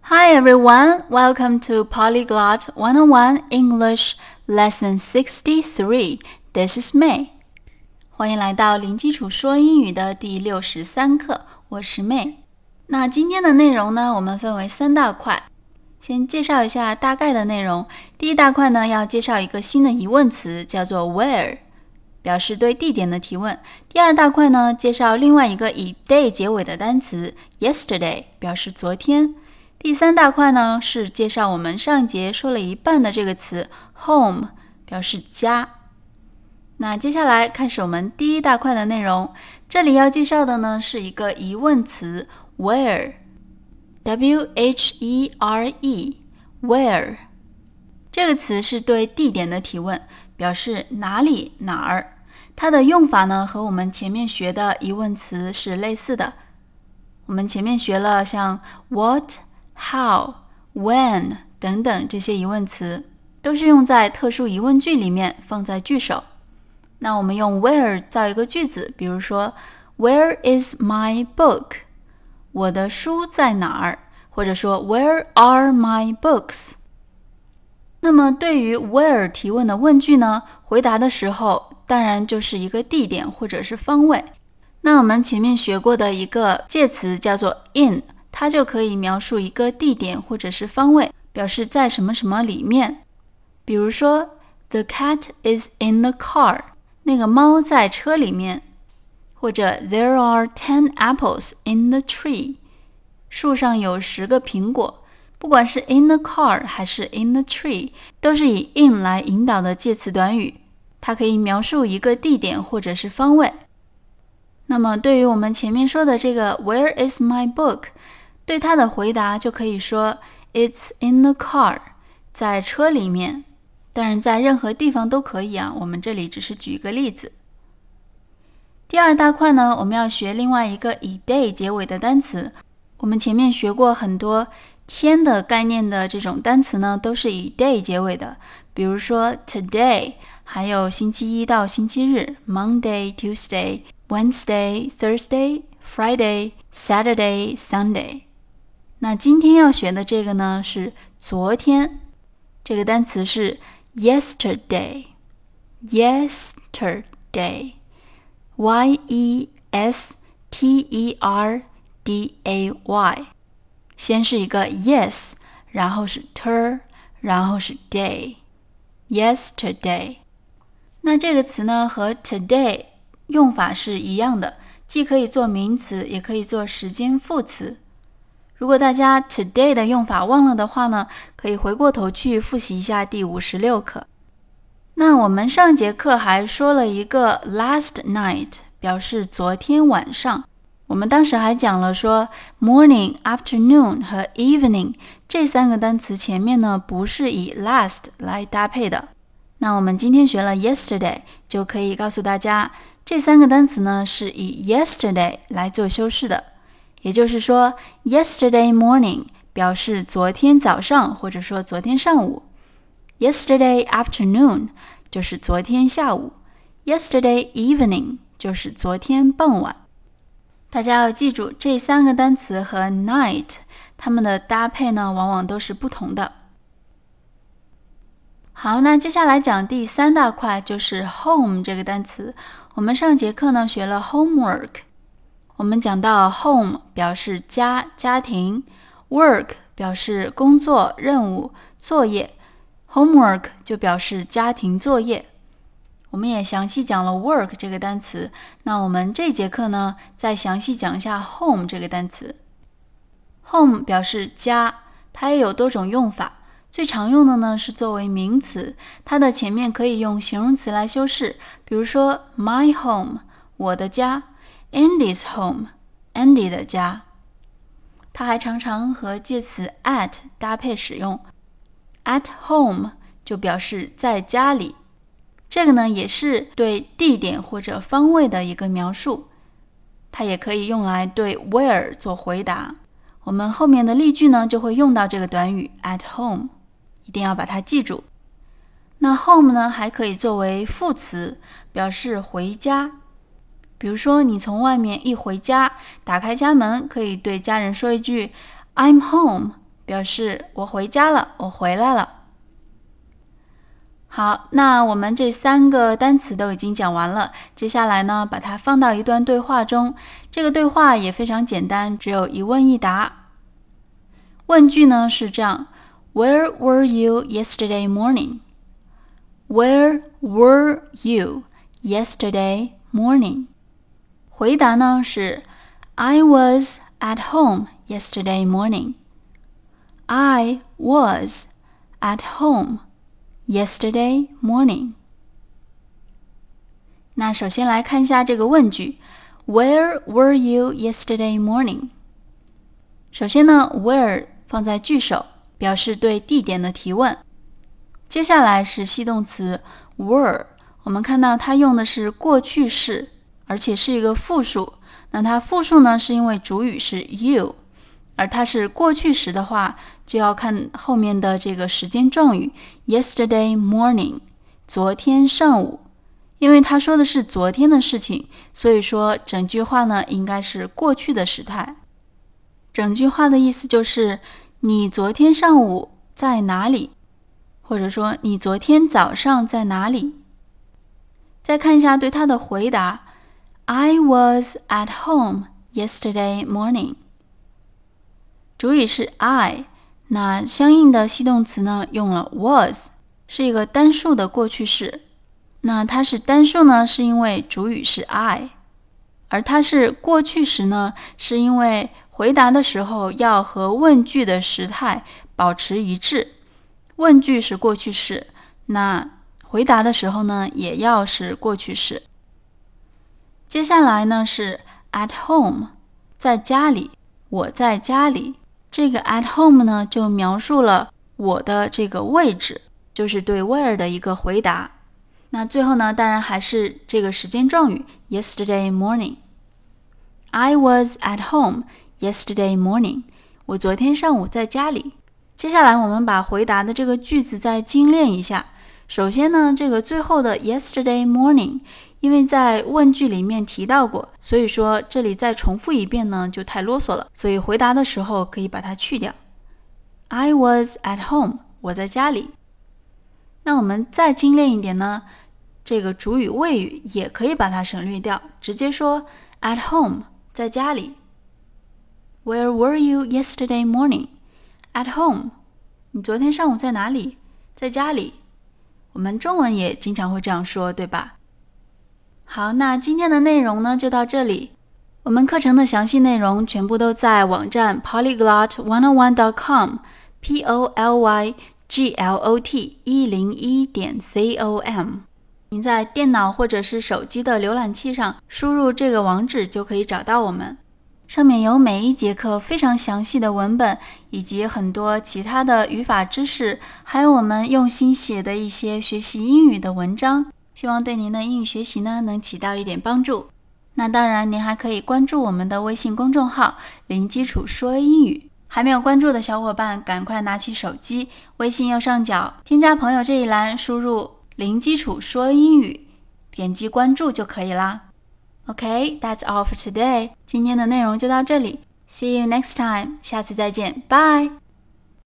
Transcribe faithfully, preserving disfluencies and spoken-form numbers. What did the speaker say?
Hi everyone, welcome to Polyglot one oh one English Lesson sixty-three. This is May. 欢迎来到零基础说英语的第六十三课，我是 May。那今天的内容呢，我们分为三大块。先介绍一下大概的内容。第一大块呢，要介绍一个新的疑问词，叫做 where， 表示对地点的提问。第二大块呢，介绍另外一个以 day 结尾的单词 yesterday， 表示昨天。第三大块呢，是介绍我们上节说了一半的这个词 home， 表示家。那接下来开始我们第一大块的内容。这里要介绍的呢，是一个疑问词 where， W H E R E where 这个词是对地点的提问，表示哪里哪儿。它的用法呢，和我们前面学的疑问词是类似的。我们前面学了像 what、how、when 等等这些疑问词，都是用在特殊疑问句里面，放在句首。那我们用 where 造一个句子，比如说 Where is my book？ 我的书在哪儿？或者说 Where are my books？ 那么对于 where 提问的问句呢，回答的时候当然就是一个地点或者是方位。那我们前面学过的一个介词叫做 in， 它就可以描述一个地点或者是方位，表示在什么什么里面。比如说 The cat is in the car， 那个猫在车里面。或者 There are ten apples in the tree， 树上有十个苹果。不管是 in the car 还是 in the tree， 都是以 in 来引导的介词短语，它可以描述一个地点或者是方位。那么对于我们前面说的这个 Where is my book？ 对它的回答就可以说 It's in the car， 在车里面。当然在任何地方都可以啊，我们这里只是举一个例子。第二大块呢，我们要学另外一个以 day 结尾的单词。我们前面学过很多天的概念的这种单词呢，都是以 day 结尾的，比如说 today， 还有星期一到星期日 Monday、Tuesday、Wednesday、Thursday、Friday、Saturday、Sunday。 那今天要学的这个呢是昨天，这个单词是 yesterday， yesterday Y E S T E R D A Y， 先是一个 yes， 然后是 ter， 然后是 day， yesterday。 那这个词呢和 today 用法是一样的，既可以做名词，也可以做时间副词。如果大家 today 的用法忘了的话呢，可以回过头去复习一下第五十六课。那我们上节课还说了一个 last night， 表示昨天晚上。我们当时还讲了说 morning、afternoon 和 evening 这三个单词前面呢不是以 last 来搭配的。那我们今天学了 yesterday， 就可以告诉大家这三个单词呢是以 yesterday 来做修饰的。也就是说 yesterday morning 表示昨天早上，或者说昨天上午。Yesterday afternoon 就是昨天下午， Yesterday evening 就是昨天傍晚。大家要记住这三个单词和 night 它们的搭配呢往往都是不同的。好，那接下来讲第三大块，就是 home 这个单词。我们上节课呢学了 homework， 我们讲到 home 表示家、家庭， work 表示工作、任务、作业， homework 就表示家庭作业。我们也详细讲了 work 这个单词，那我们这节课呢再详细讲一下 home 这个单词。 home 表示家，它也有多种用法，最常用的呢是作为名词，它的前面可以用形容词来修饰，比如说 my home 我的家， Andy's home Andy 的家。它还常常和介词 at 搭配使用， at home 就表示在家里。这个呢也是对地点或者方位的一个描述，它也可以用来对 where 做回答。我们后面的例句呢就会用到这个短语 at home， 一定要把它记住。那 home 呢还可以作为副词，表示回家。比如说你从外面一回家，打开家门，可以对家人说一句 I'm home， 表示我回家了，我回来了。好，那我们这三个单词都已经讲完了，接下来呢，把它放到一段对话中。这个对话也非常简单，只有一问一答。问句呢是这样 ：Where were you yesterday morning? Where were you yesterday morning? 回答呢是 I was at home yesterday morning. I was at home yesterday morning. 那首先来看一下这个问句 Where were you yesterday morning? 首先呢 where 放在句首，表示对地点的提问。接下来是系动词 were， 我们看到它用的是过去式，而且是一个复数。那它复数呢是因为主语是 you， 而它是过去时的话，就要看后面的这个时间状语 yesterday morning， 昨天上午。因为他说的是昨天的事情，所以说整句话呢应该是过去的时态。整句话的意思就是你昨天上午在哪里，或者说你昨天早上在哪里。再看一下对他的回答 I was at home yesterday morning。 主语是 I， 那相应的系动词呢用了 was， 是一个单数的过去式。那它是单数呢是因为主语是 I， 而它是过去时呢是因为回答的时候要和问句的时态保持一致。问句是过去式，那回答的时候呢也要是过去式。接下来呢是 at home， 在家里，我在家里。这个 at home 呢就描述了我的这个位置，就是对 where 的一个回答。那最后呢当然还是这个时间状语 yesterday morning。 I was at home yesterday morning， 我昨天上午在家里。接下来我们把回答的这个句子再精炼一下。首先呢这个最后的 yesterday morning 因为在问句里面提到过，所以说这里再重复一遍呢就太啰嗦了，所以回答的时候可以把它去掉。 I was at home， 我在家里。那我们再精炼一点呢，这个主语谓语也可以把它省略掉，直接说 at home， 在家里。 Where were you yesterday morning? At home， 你昨天上午在哪里？在家里。我们中文也经常会这样说，对吧？好，那今天的内容呢就到这里。我们课程的详细内容全部都在网站 polyglot one oh one dot com P O L Y G L O T 一零一点 com。 您在电脑或者是手机的浏览器上输入这个网址就可以找到我们，上面有每一节课非常详细的文本，以及很多其他的语法知识，还有我们用心写的一些学习英语的文章，希望对您的英语学习呢能起到一点帮助。那当然您还可以关注我们的微信公众号零基础说英语，还没有关注的小伙伴赶快拿起手机，微信右上角添加朋友这一栏输入零基础说英语，点击关注就可以啦。Okay, that's all for today. 今天的内容就到这里。See you next time. 下次再见。Bye.